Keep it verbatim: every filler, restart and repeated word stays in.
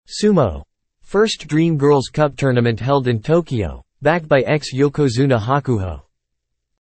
Sumo. First Dream Girls Cup tournament held in Tokyo. Backed by ex-Yokozuna Hakuho.